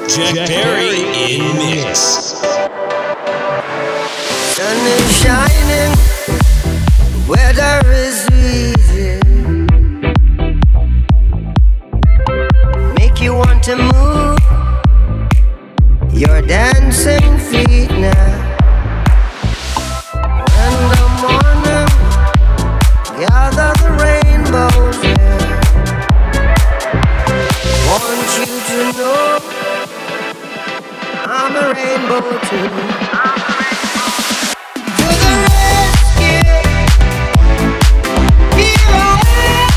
Jack Perry in mix. Sun is shining, weather is easy. Make you want to move your dancing feet now. In the morning, gather the rainbows, yeah. Want you to know I'm a rainbow too. To the rescue, here I am.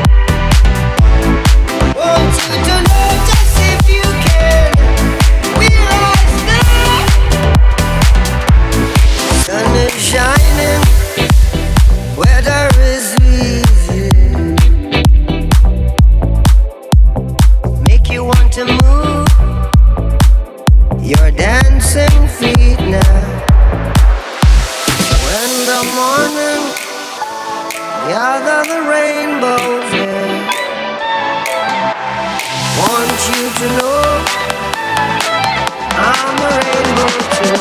Want you to know just if you can. We rise now. Sun is shining, weather is easy. Make you want to move your dancing feet now. When the morning gather the rainbows, yeah. Want you to know I'm a rainbow too.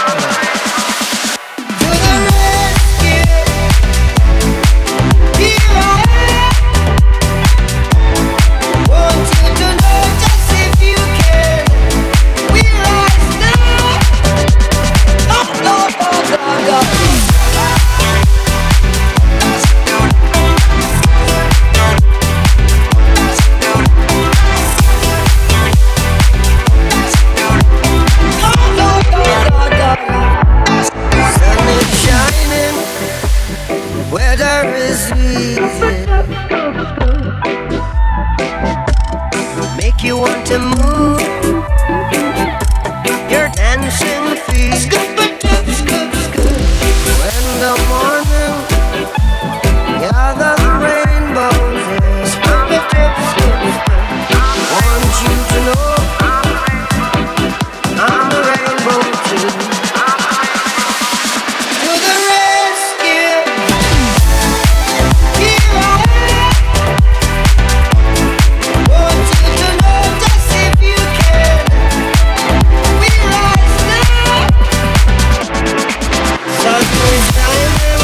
To the rescue, here I am. Want you to know just if you can. We rise now. Oh, Lord, oh, God, God. Sun is shining, weather is easy. Make you want to move your dancing feet. When the morning gather the rainbows, yeah. Want you to know I'm a rainbow too. To the rescue, here I am. Want you to know just if you can. We rise now. Sun is shining.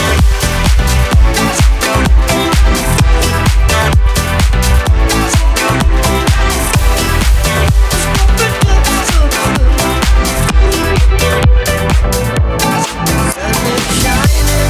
Sun is shining.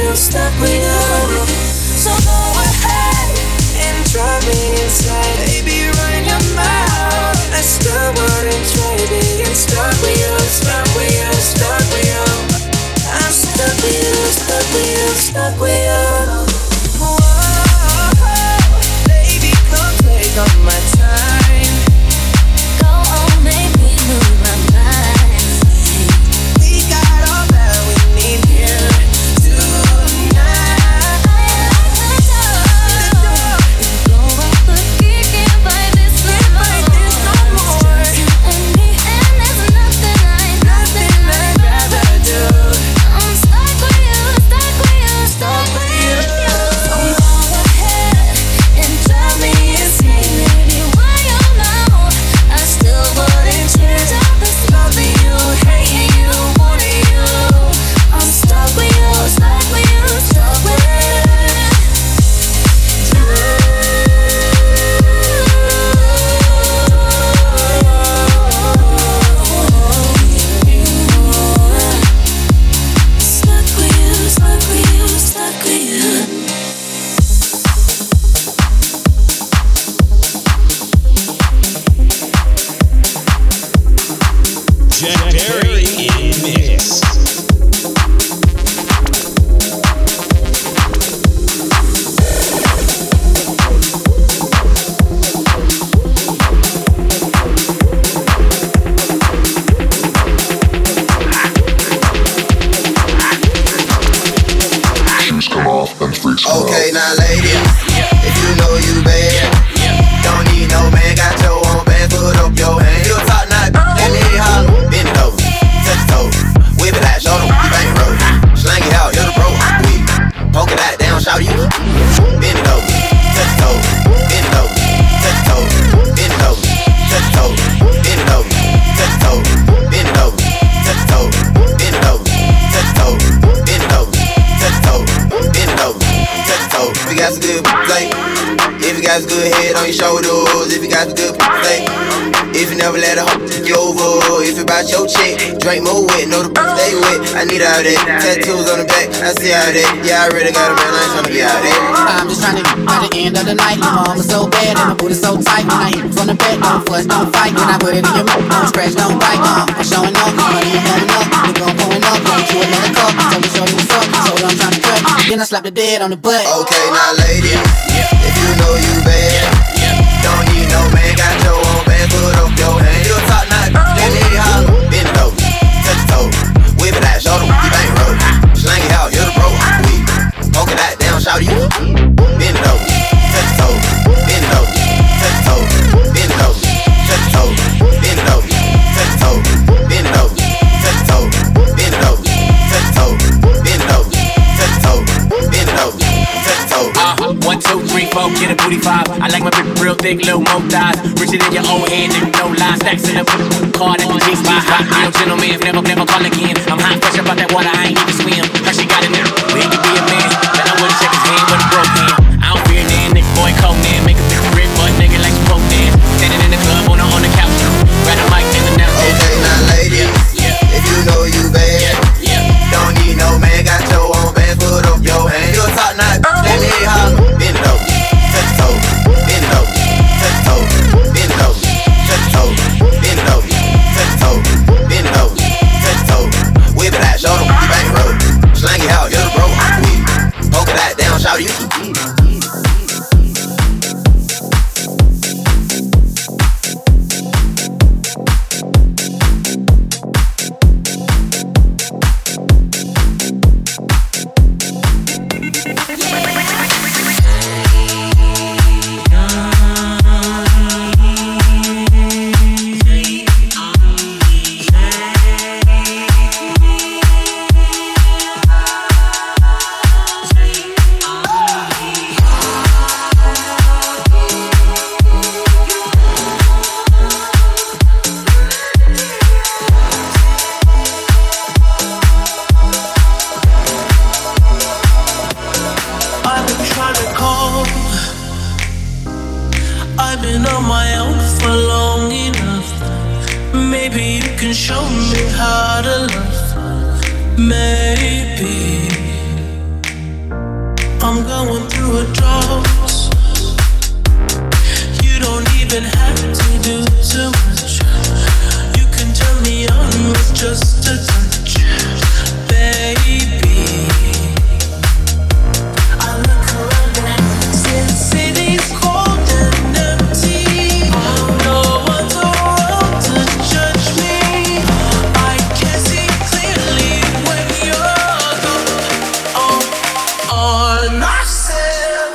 stuck with you. So go ahead and drive me inside. Baby, run your mouth. I still wouldn't trade being stuck with you, stuck with you, stuck with you. I'm stuck with you, stuck with you, stuck with you. Whoa, baby, come take all my time. Go on, make me lose my mind. We got all that we need here tonight. Go off the key, can't fight this no more. It's just you and me, and there's nothing I'd rather do. I'm stuck with you, stuck with you, stuck with you. So go ahead and drive me insane, baby. Why you know I still wouldn't change all this loving you, hating you, wanting you. I'm stuck with you, stuck with you, stuck with you. Stuck with you, stuck with you, stuck with you. Jack Perry in mix. Okay, now ladies, if you know you bad, don't need no man, got your own band, put up your hand. You a top notch, let me holler, bend it over, touch the toe, whip it out, show them you bang roll, slang it out, hit the bro, we poke it out, down, shout you, bend it over, touch the toe, bend it over, touch the toe, bend it over, touch the toe, bend it over, touch the toe, bend it over, touch the toe, bend it over, touch the toe, bend it over, touch the toe, bend it over. If you got some good play, if you got some good head on your shoulders, if you got some good play, if you never let a hoe take you over, if you bout your chick, drink more wet, know the stay wet. I need all that, tattoos on the back, I see all that. Yeah, I really got a man, I ain't tryna be out there. I'm just trying to get by the end of the night. My arm is so bad and my booty so tight. When I hit it from the back, don't fuss, don't fight. When I put it in your mouth, don't scratch, don't bite. I'm showing up, money ain't coming up. We gon' pulling up, get you another cup. Tell me, show you what's up, so I'm trying to cut. Then I slap the dead on the butt. Okay, now ladies, if you know you bad, don't need no man, got your own band, put up your hand. You a top notch, let me holler, bend it over, touch the toe, whip it out, show them you bang roll, slang it out, hit the bro, we poke it out, down, shout you, bend it over, touch the toe, bend it over, touch the toe, bend it over, touch the toe, bend it over, touch the toe, bend it over, touch the toe, bend it over, touch the toe, bend it over, touch the toe, bend it over, touch the toe. 1, 2, 3, 4, get a booty 5. I like my bitch real thick, little more thighs. Richer than your old head, nigga, no lies. Stacks in the card at the G-spot. Real gentleman, never call again. I'm hot, fresh about that water, I ain't need to swim. Her, she got a nigga, he could be a man. But I wouldn't check his hand with a broke hand. I don't fear that nigga, boy, Conan. Make a bitch rip, but nigga like you broke dance. Standing in the club on the couch. Grab a mic, and the now. Okay, now ladies, if you know you bad, don't need no man, got your own band, put up your hand. You a top notch, let me holler, bend it over, touch the toe, bend it over, touch the toe, bend it over, touch the toe, bend it over, touch the toe, bend it over, touch the toe, whip it out, show them you bang roll, slang it out, hit the bro, we poke it out, down, shout you. I've been on my own for long enough. Maybe you can show me how to love. Maybe I'm going through a drought. You don't even have to do too much. You can turn me on with just a touch, baby. I look around and since city's cold and empty, no one's around to judge me. I can see clearly when you're gone. On myself,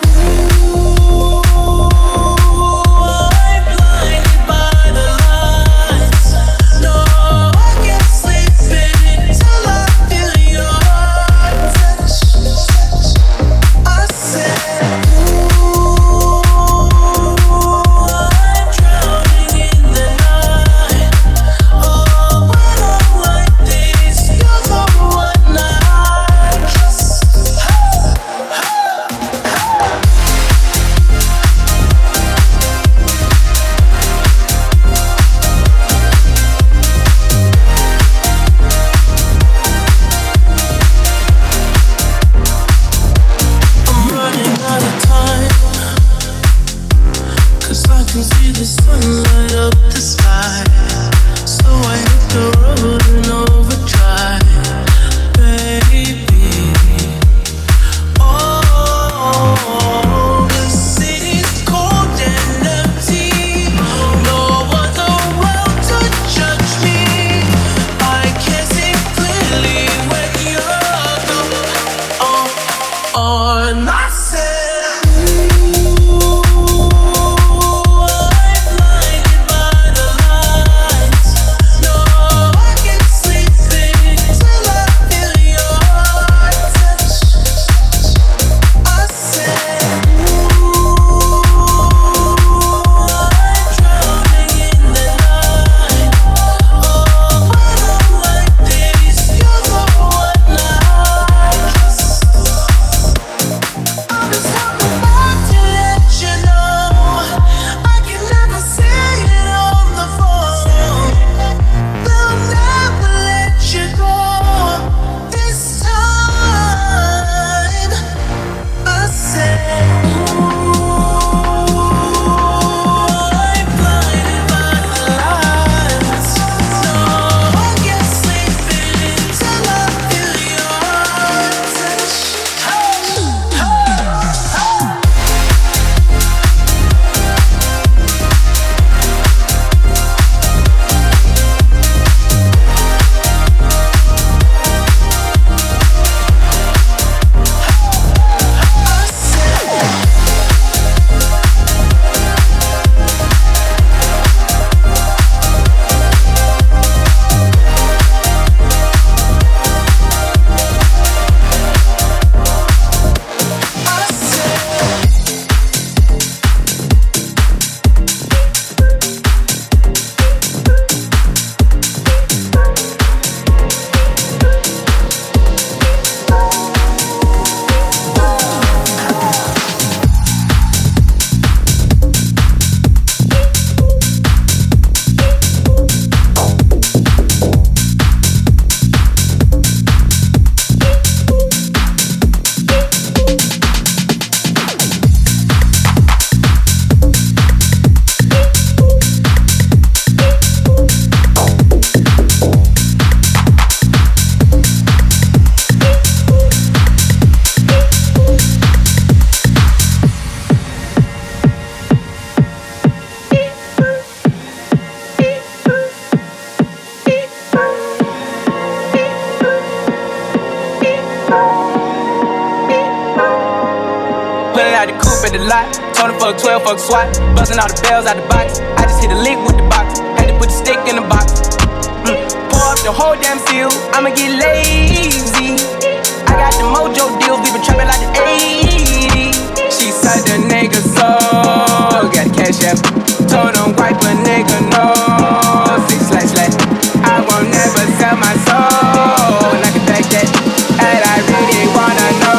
I'm blinded by the lights. No, I can't sleep until I feel your touch. I said, ooh, I'm drowning in the night. Oh, when I'm like this, you're the one I trust. I'm running out of time, 'cause I can see the sun light up the sky. So I hit the road in overdrive, baby. Oh, the city's cold and empty. No one's around to judge me. I can see clearly when you're gone. On myself, I'm blinded by the lights. No, I can't sleep until I feel your touch. I said, ooh, I'm drowning in the night. Oh, when I'm like this, you're the one I trust. I'm just talking about to let you know I can never say it on the phone. They'll never let you go this time. I said, ooh, I'm blinded by the lights. No, I can't sleep until I feel your touch. Pulling out the coupe at the lot. Told him fuck 12, fuck SWAT. Busting all the bells out the box. I just hit a lick with the box. Had to put the stick in the box. Pour up the whole damn field. I'ma get lazy. I got the mojo deals. We been trapping like the 80s. She said the nigga soul. Got the cash app. Told him wipe a nigga no. 6//. I won't never sell my soul. And I can back that. And I really wanna know.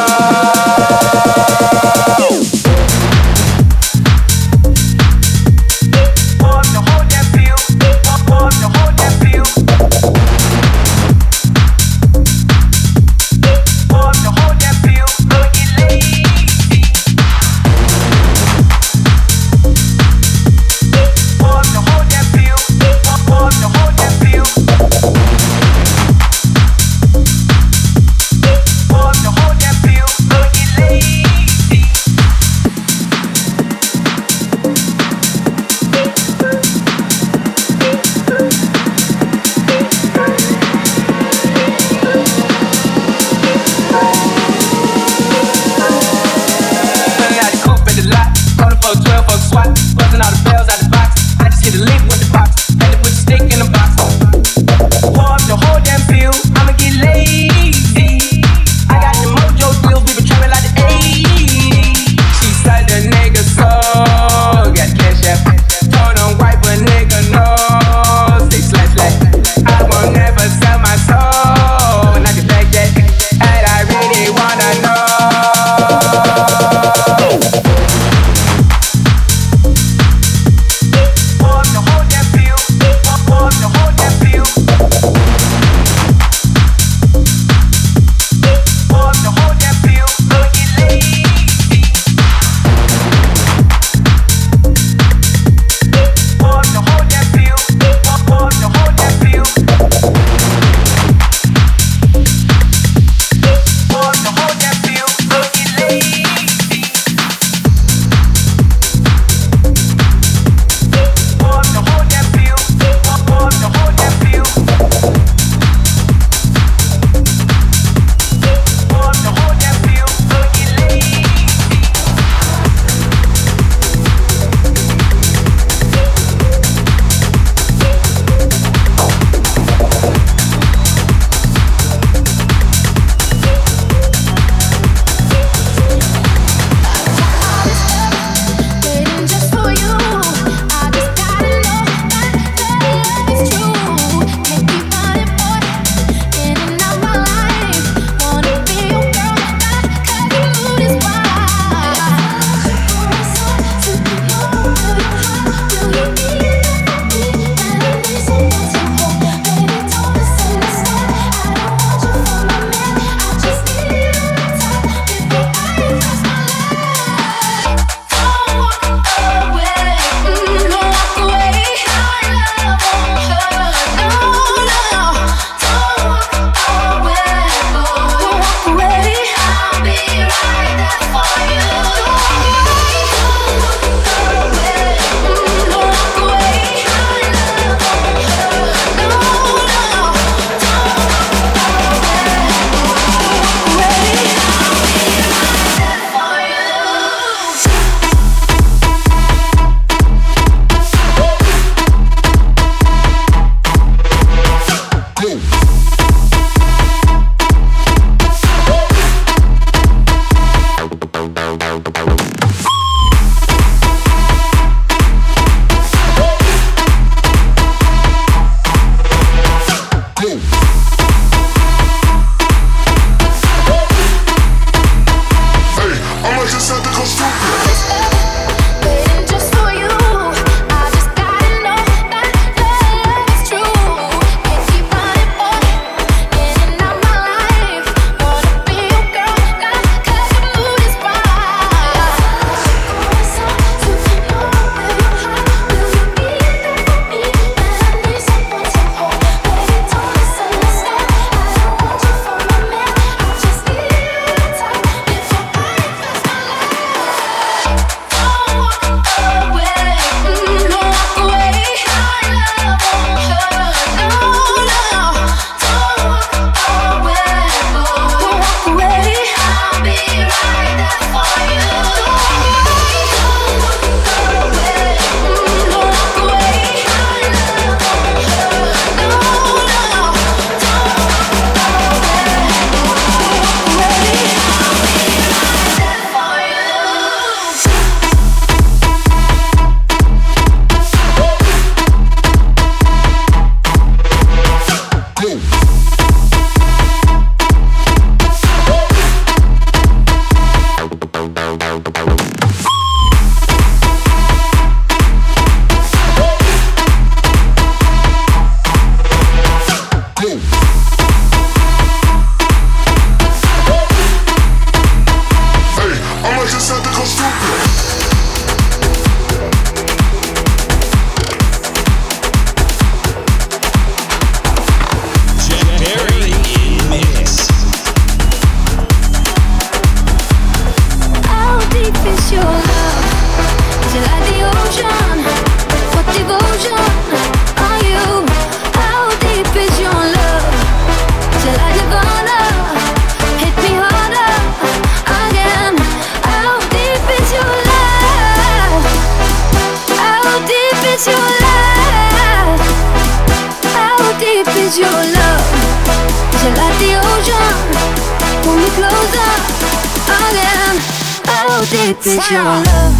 Deep is your love.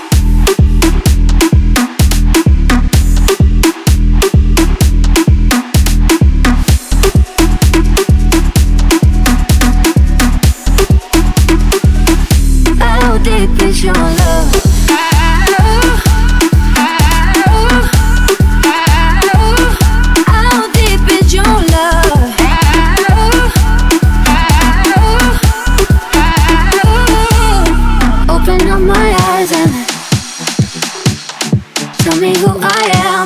How deep is your love? How deep is your love? Open up my eyes and tell me who I am.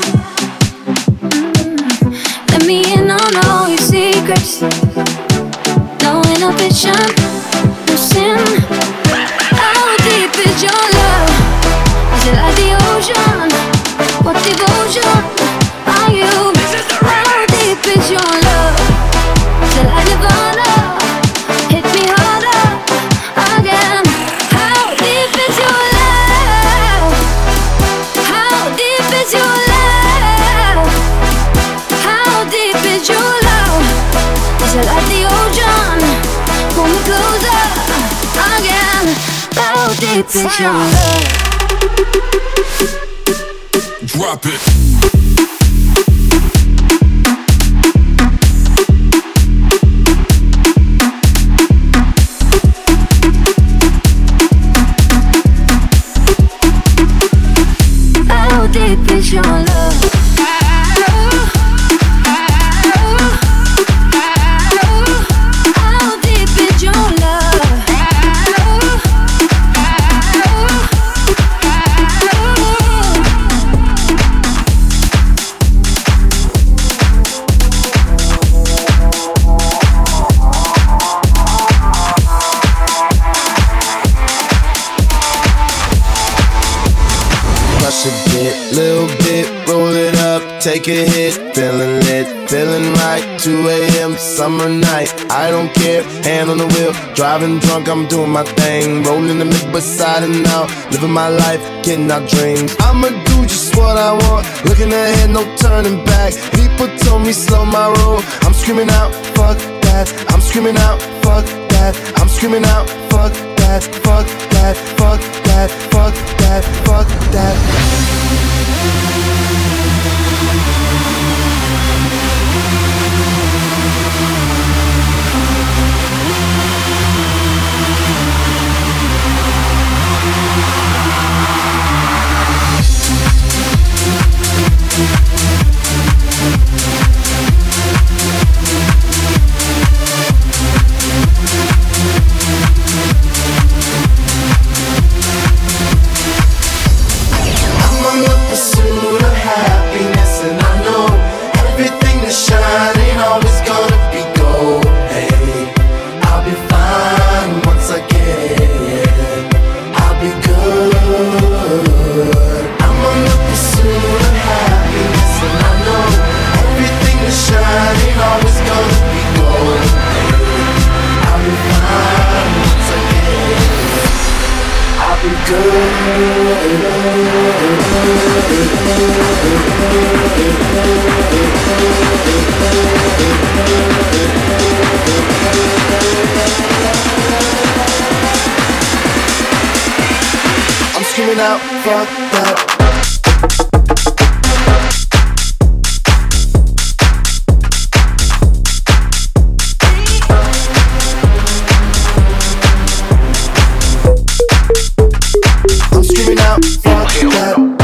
Let me in on all your secrets. No inhibition, no sin. How deep is your love? Is it like the ocean? What devotion are you? How deep is your love? Is it like Nirvana? Hit me harder again. How deep is your love? How deep is your love? How deep is your love? Is it like the ocean? Pull me closer again. How deep is your love? Drop it. How deep is your love? How deep is your love? Crush a bit, little bit, roll it up, take a hit, feeling lit, feeling right, 2 a.m. summer night, I don't care, hand on the wheel, driving drunk, I'm doing my thing, rolling the mid beside and out, living my life, getting our dreams, I'ma do just what I want, looking ahead, no turning back, people told me slow my roll, I'm screaming out, fuck that, I'm screaming out, fuck that, I'm screaming out, fuck that, fuck that, fuck that, fuck that, fuck that. I'm on the pursuit of happiness, and I know everything that shine ain't always gonna be gold. Hey, I'll be fine once I get it. I'll be good. I'm on the pursuit of happiness, and I know everything that shine ain't always gonna be gold. Hey, I'll be fine once I get it. I'll be good. I'm screaming out, fuck that. I'm screaming out, fuck that.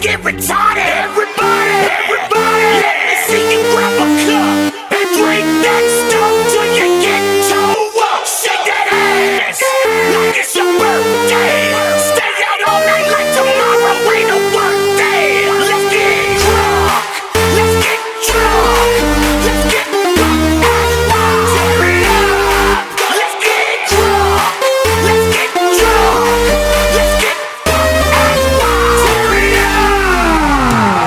get retarded. Everybody, let me see you grab a cup and drink that stuff till you get toe up. Shake that ass like it's your birthday. Stay out all night like tomorrow ain't a work day. Let's get drunk, let's get drunk, let's get drunk and tear it up. Let's get drunk, let's get drunk, let's get drunk and tear it up.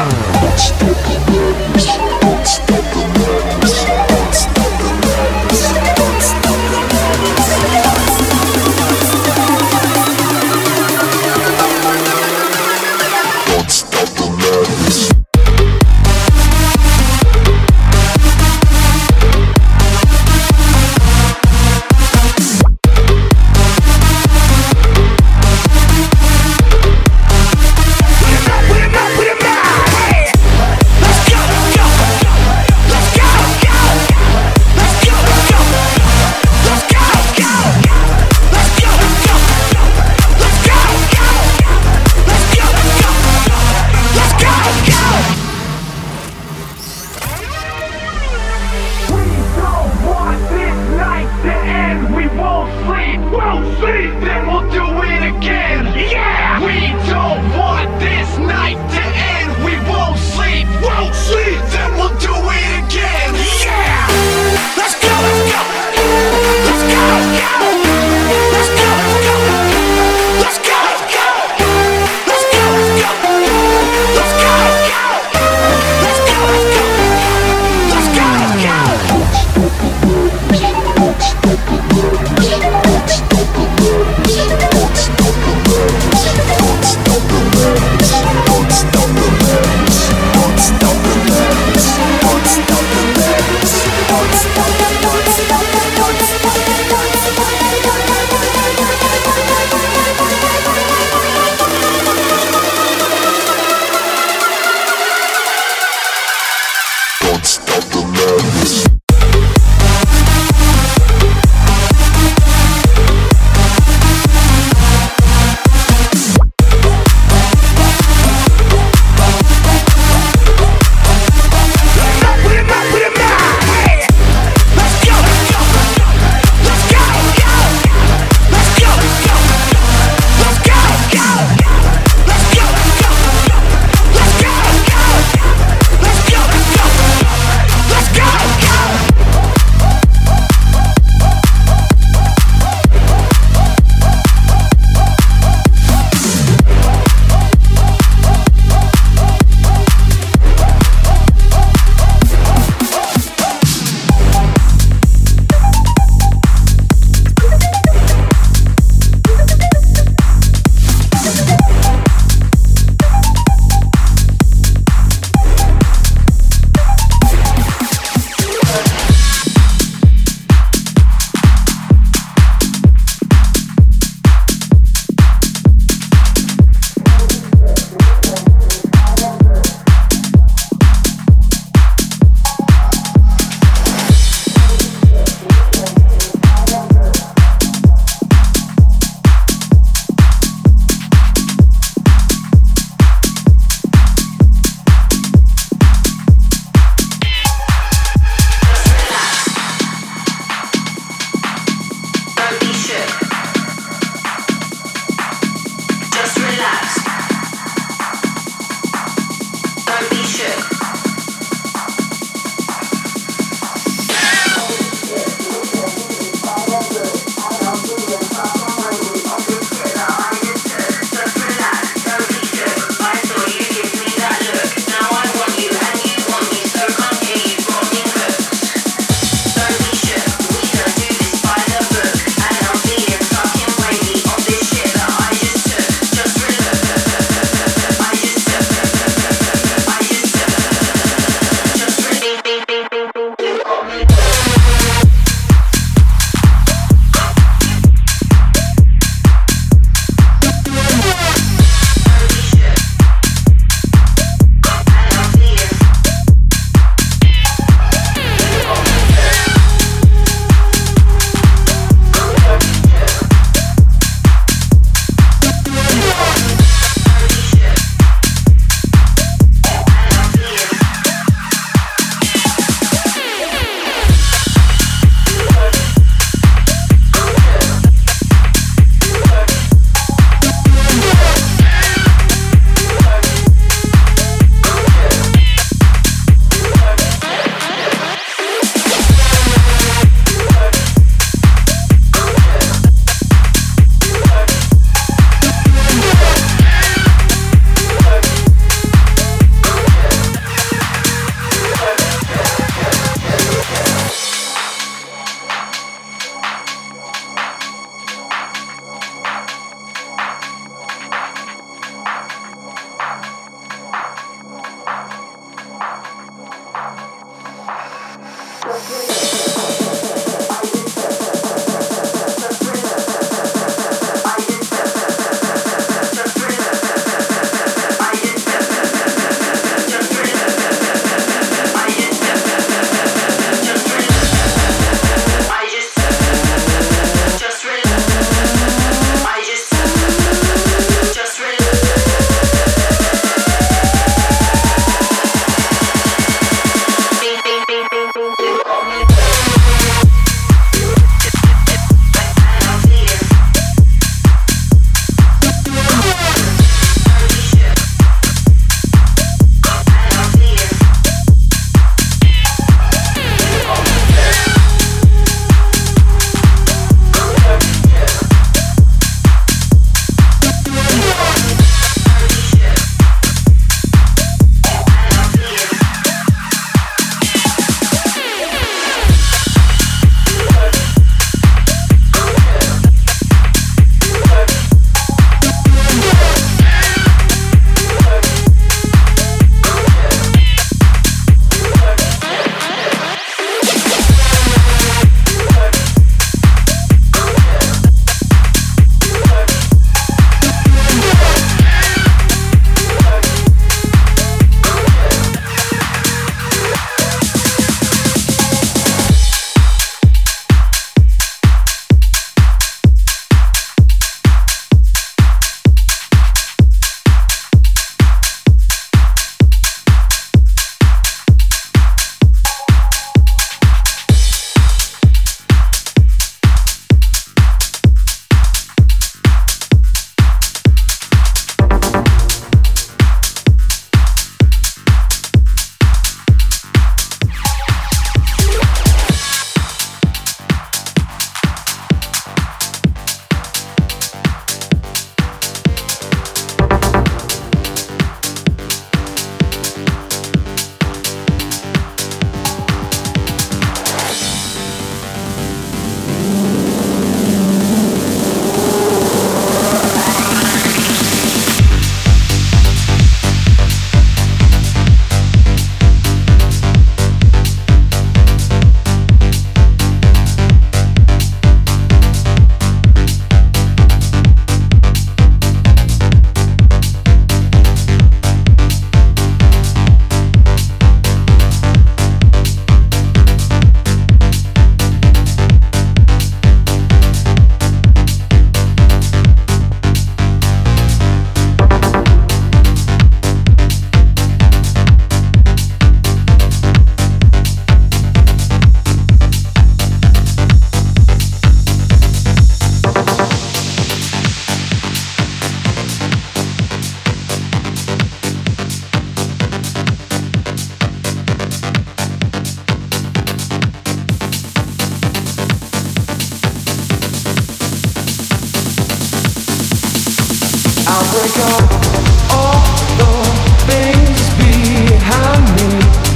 break up all the things behind me.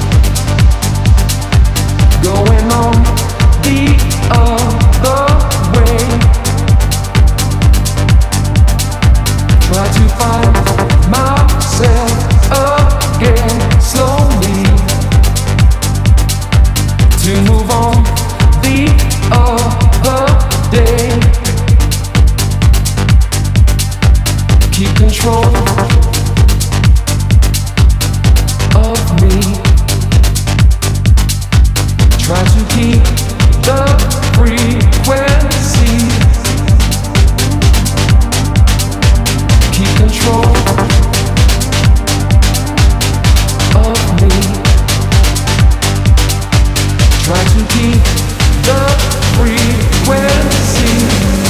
Going on the other way. Try to find myself again slowly. To move on the other day. Keep control of me. Try to keep the frequency. Keep control of me. Try to keep the frequency.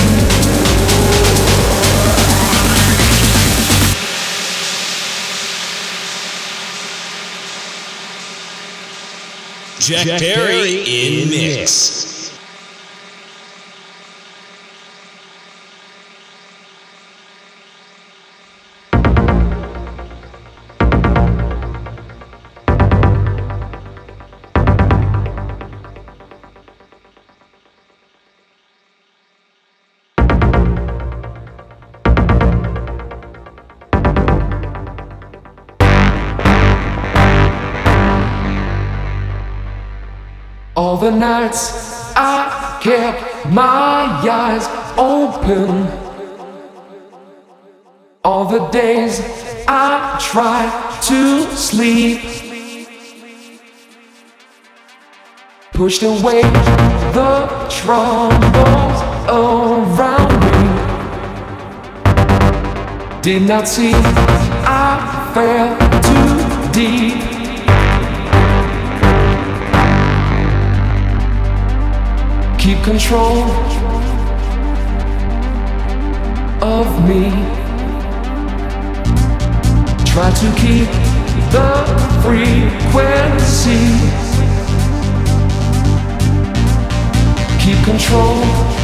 Jack Perry in mix. All the nights I kept my eyes open. All the days I tried to sleep. Pushed away the troubles around me. Did not see I fell too deep. Keep control of me. Try to keep the frequency. Keep control